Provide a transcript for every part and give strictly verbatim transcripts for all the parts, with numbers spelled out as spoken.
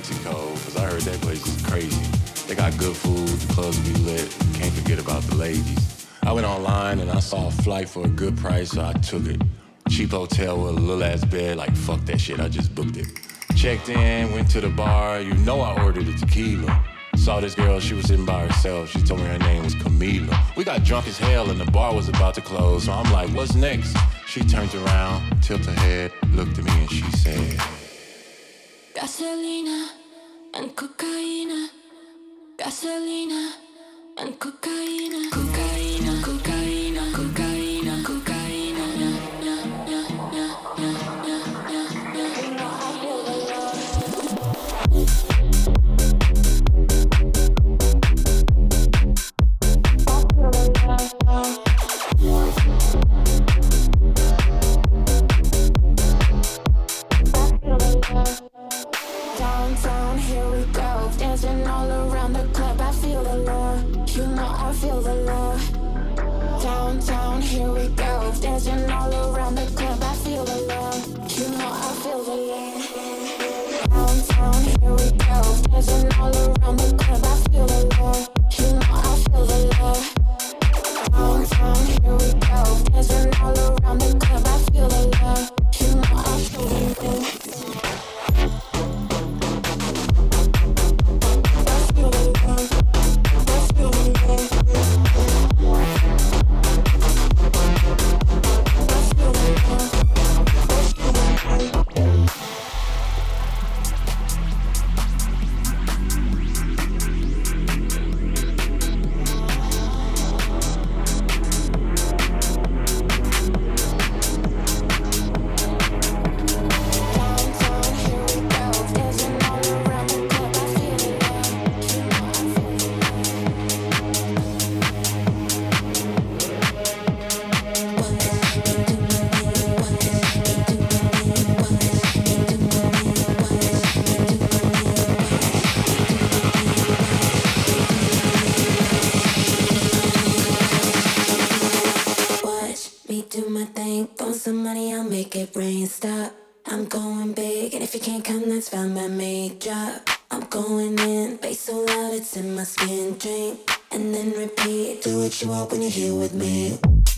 Mexico, because I heard that place is crazy. They got good food, the clubs be lit. Can't forget about the ladies. I went online and I saw a flight for a good price, so I took it. Cheap hotel with a little ass bed, like fuck that shit, I just booked it. Checked in, went to the bar, you know I ordered a tequila. Saw this girl, she was sitting by herself. She told me her name was Camila. We got drunk as hell and the bar was about to close. So I'm like, what's next? She turned around, tilted her head, looked at me and she said, Gasolina and cocaine. Gasolina and cocaine. Cocaine, cocaine, cocaine, cocaine. Yeah, yeah, yeah, yeah, yeah, yeah, yeah, yeah. You know I feel the love. Downtown, here we go, dancing all around the club. I feel the love, you know I feel the love. Downtown, here we go, dancing all around the club. I feel the love, you know I feel the love. Downtown, here we go, dancing all around the club. I feel the love, you know I feel the love. Downtown, here we go, dancing all around the club. I feel the love, you know I feel the love. When you're here with me.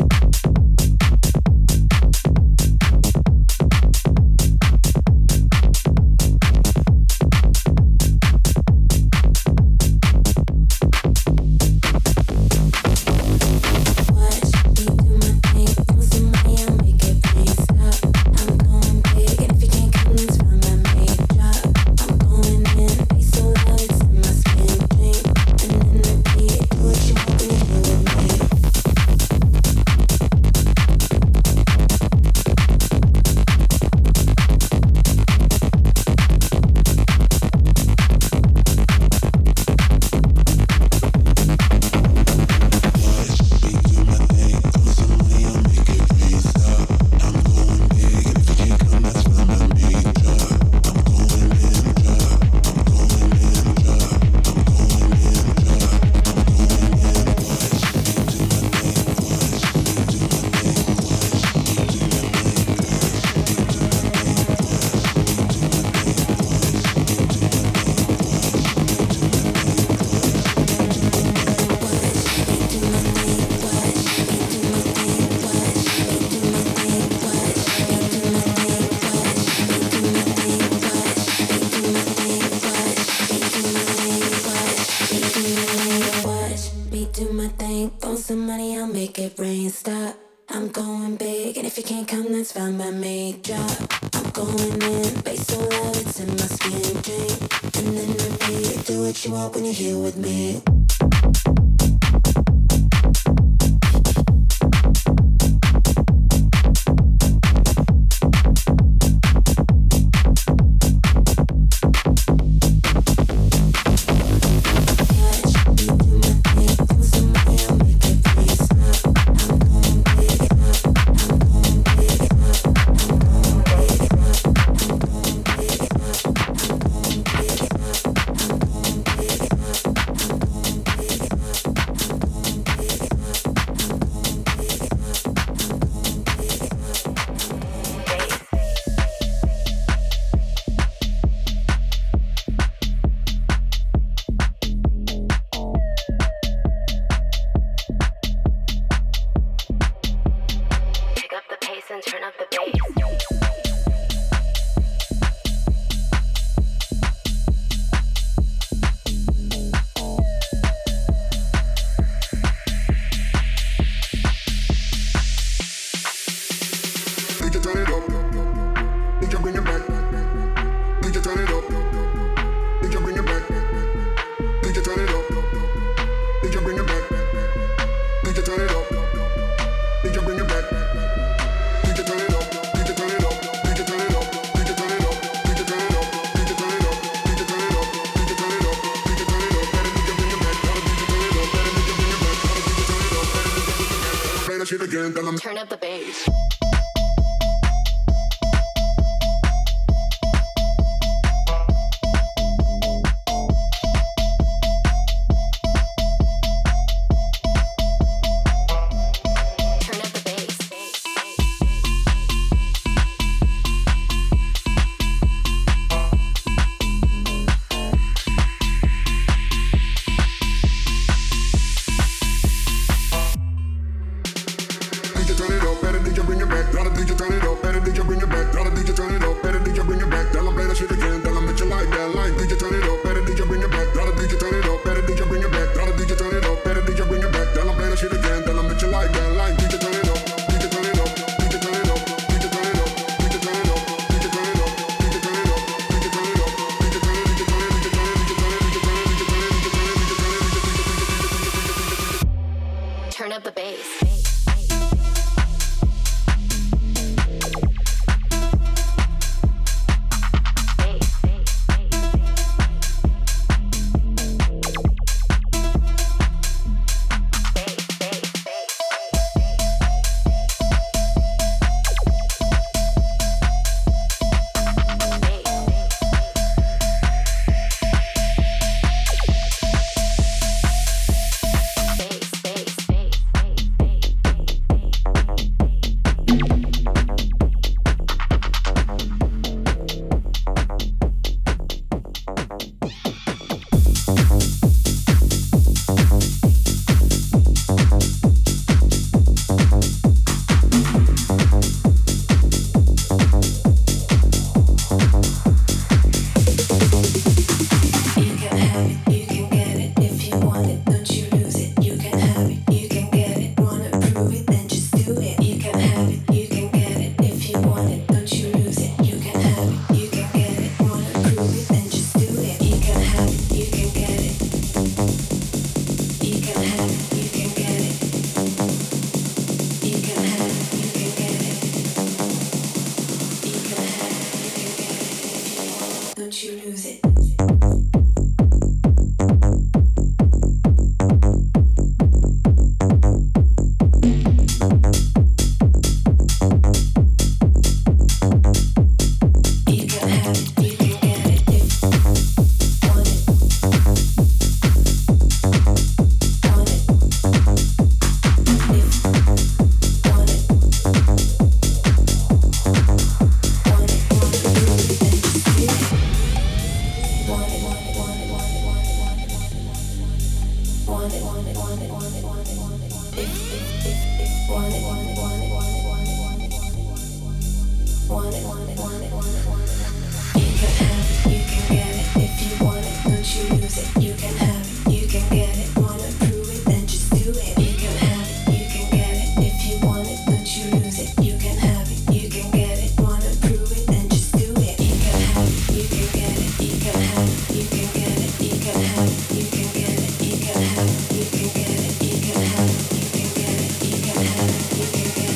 When you're here with me. that shit again, tell them. Turn up the bass. Turn up the bass. You can get it, you can have it, you can get it, you can have it, you can get it.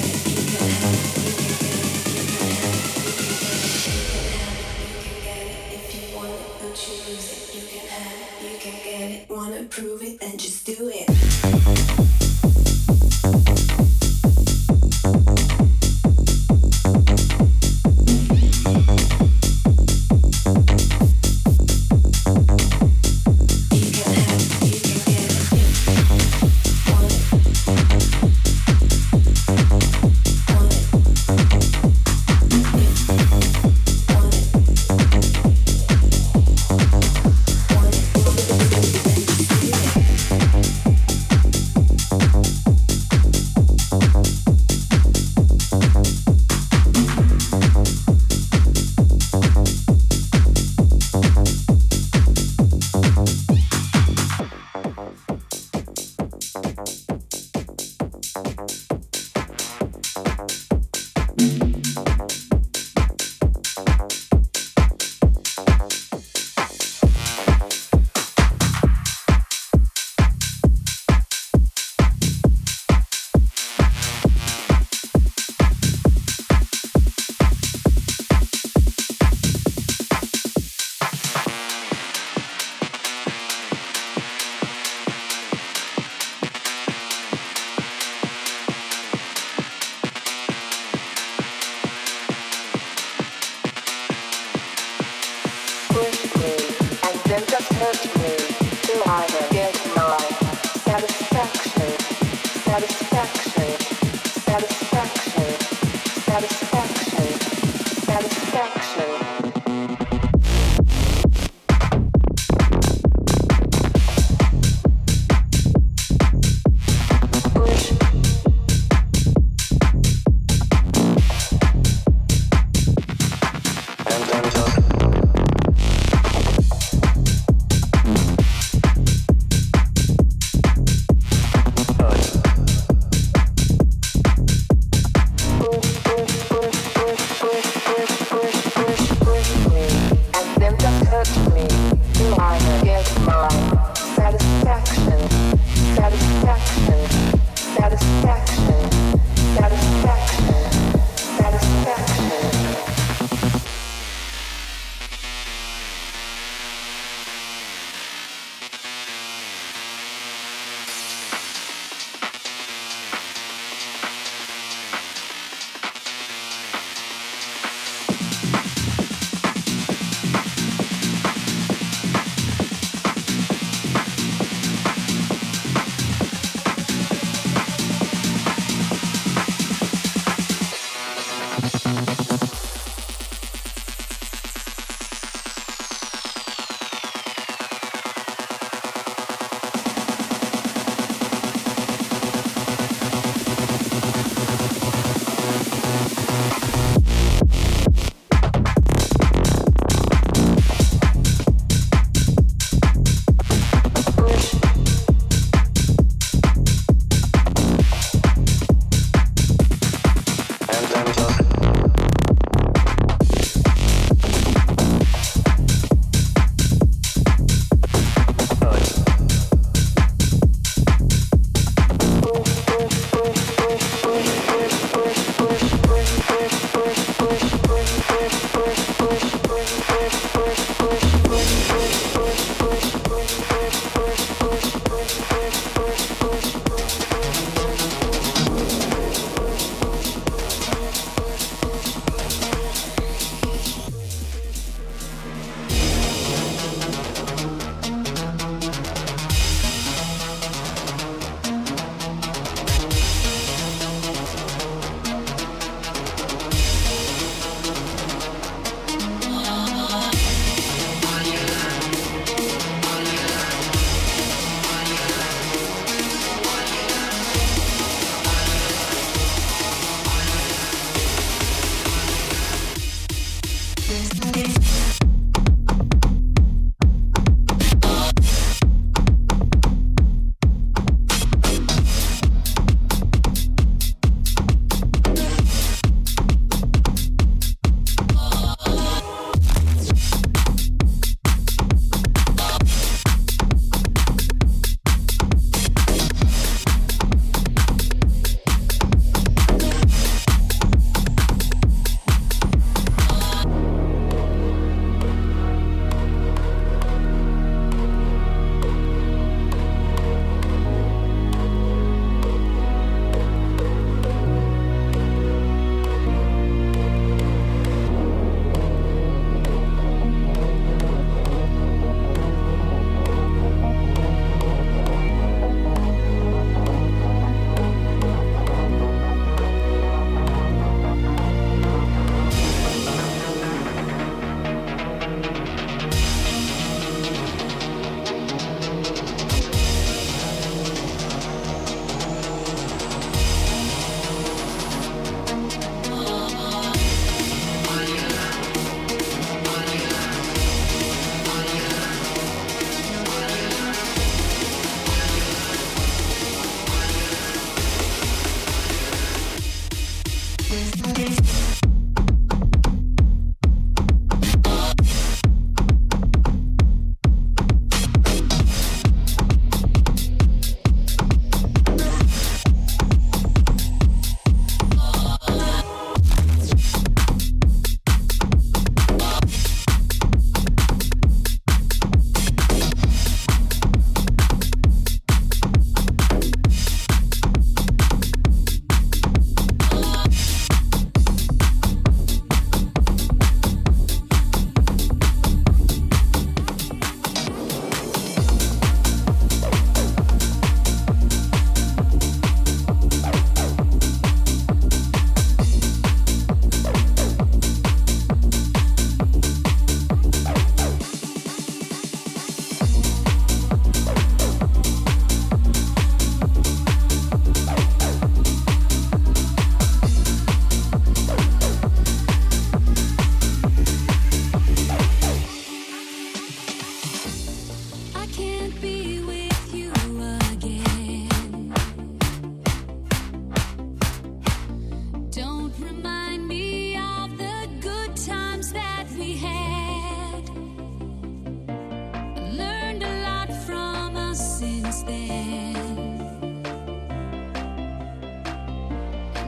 Push, push, push.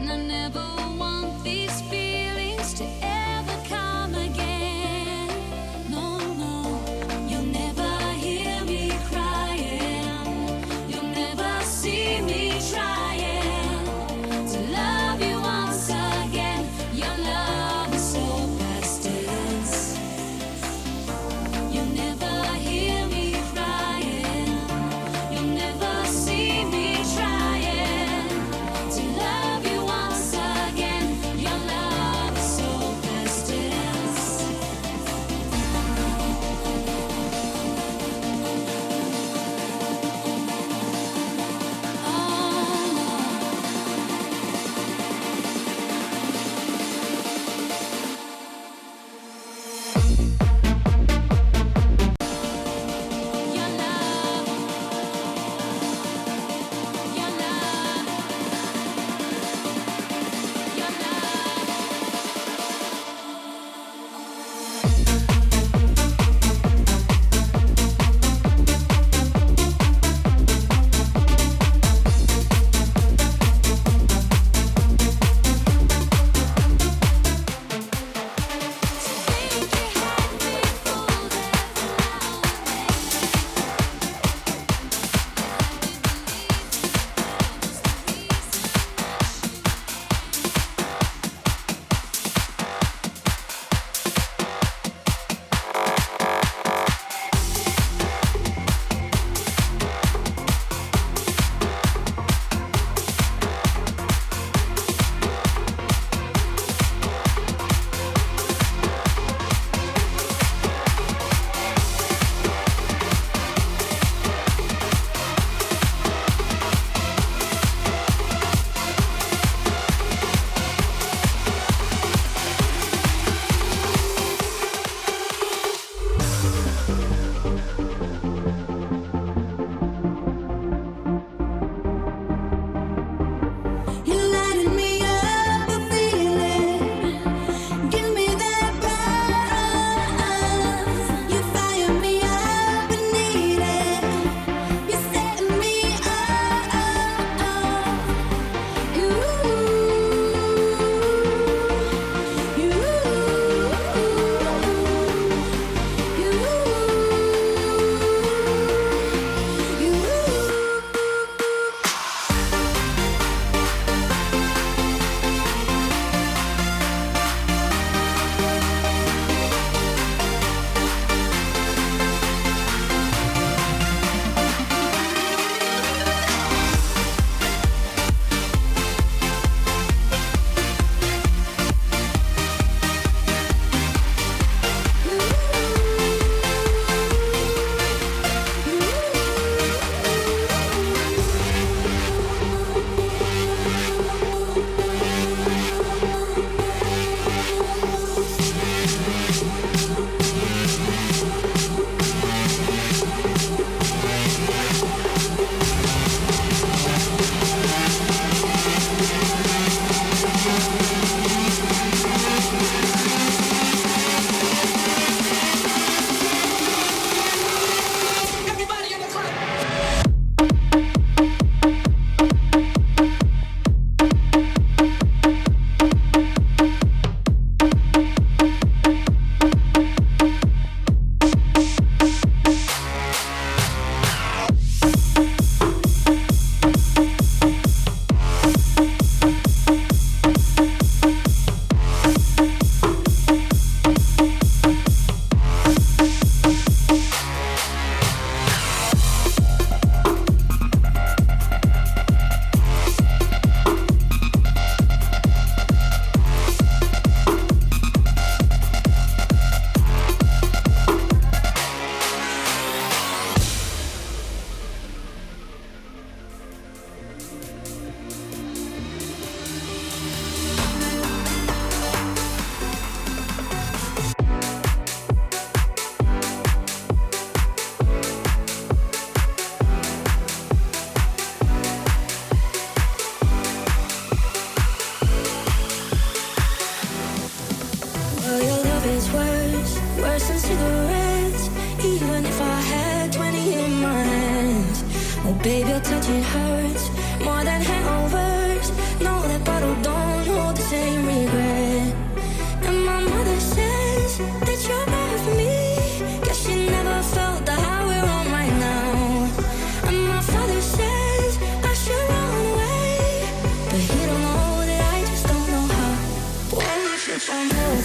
Baby, your touch, it hurts more than hangovers. No, that bottle don't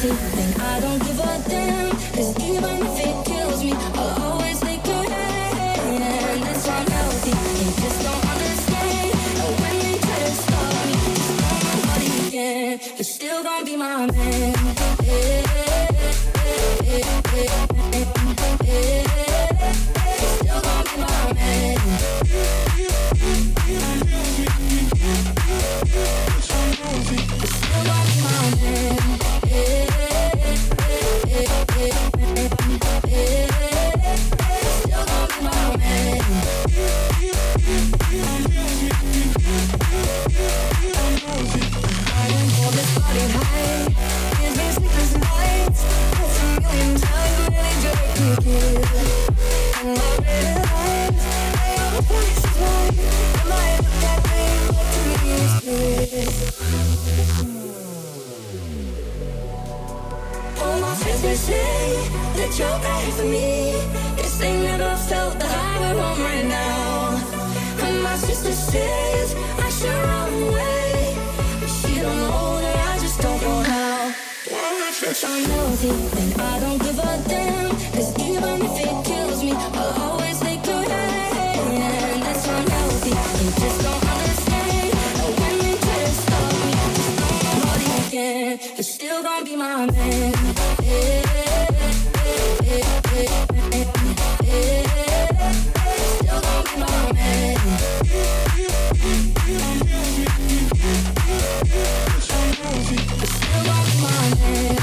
loyalty, then I don't give a damn. Cause even if it kills me, I'll always take your hand. That's why I'm healthy, you just don't understand. And when they try to stop me, just know nobody can. You're still gonna be my man. Yeah, yeah, yeah, yeah, yeah. You're still gonna be my man. All my friends may say that you're bad for me. Guess they never felt the high we're on right now. And my sister says I should run away, but she don't know that I just don't know how. If I'm healthy, then I don't give a damn. Cause even if it kills me, I'll always take your hand. That's why I'm healthy, you just don't understand. And when they try to stop me, just know nobody can. You're still gonna be my man. Yeah, yeah, yeah, yeah, yeah. Still gonna be my man. Still gonna be my man.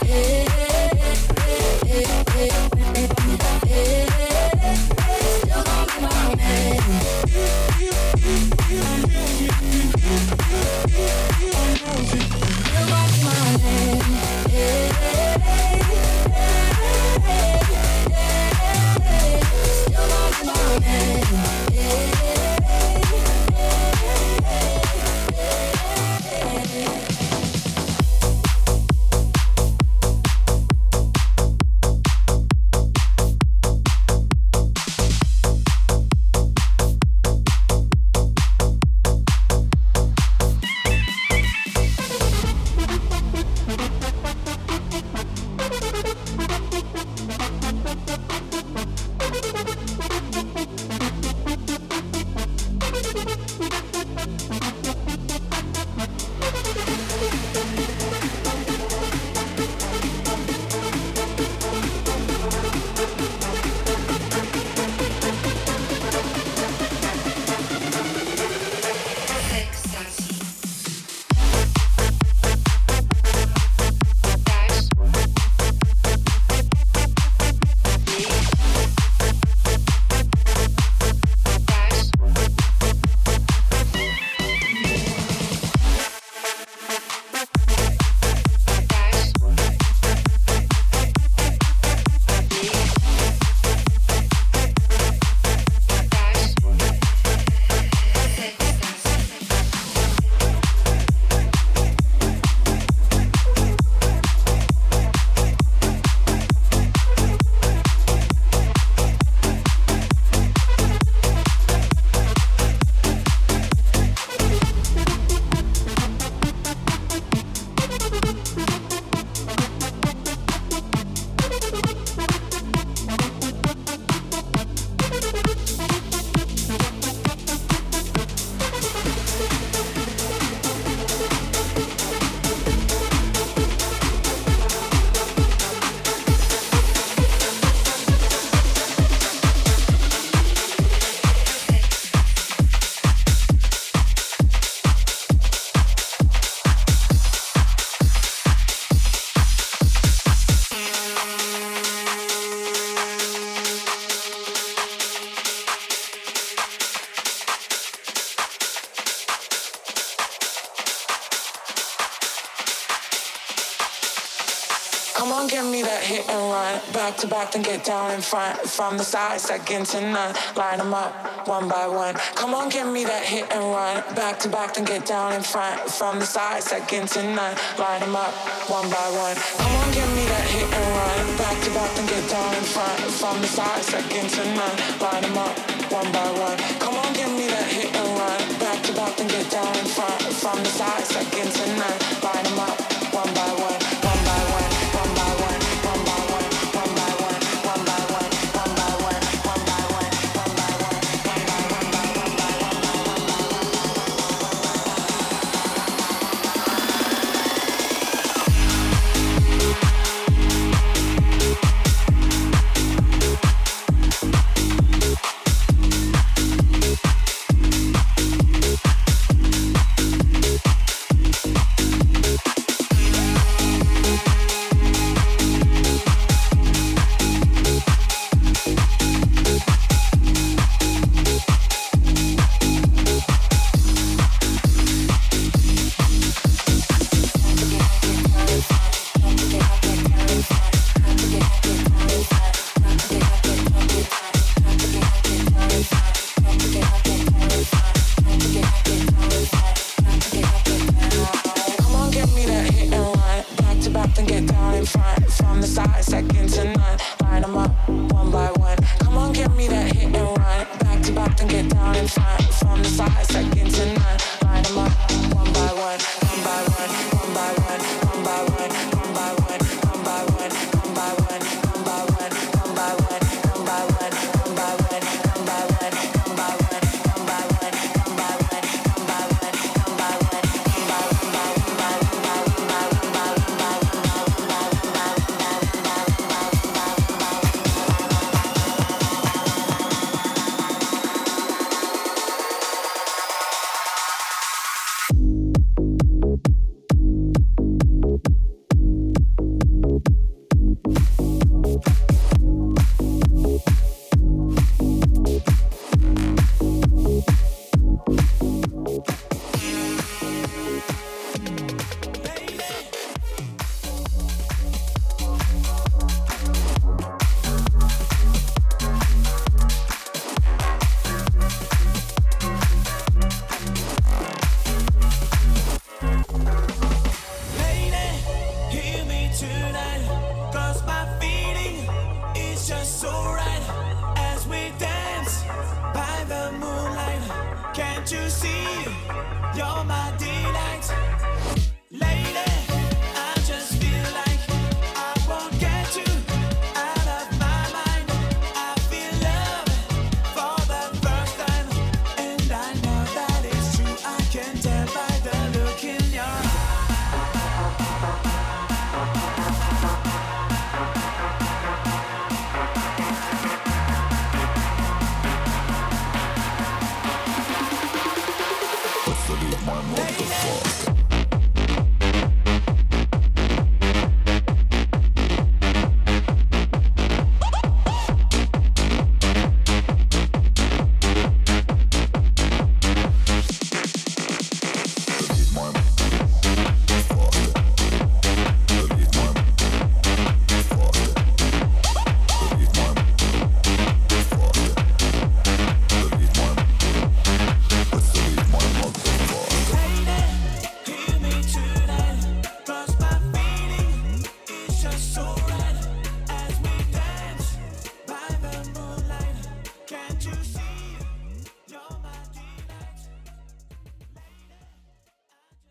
Come on, give me that hit and run. Back to back, then get down in front. From the side, second to none. Line them up, one by one. Come on, give me that hit and run. Back to back, then get down in front. From the side, second to none. Line them up, one by one. Come on, give me that hit and run. Back to back, then get down in front. From the side, second to none. Line them up, one by one. Come on, give me that hit and run. Back to back, then get down in front. From the side, second to none. Line them up, one by one, one by one. my delight. Lady, I just feel like I won't get you out of my mind. I feel love for the first time, and I know that it's true. I can tell by the look in your eyes. My motherfucker.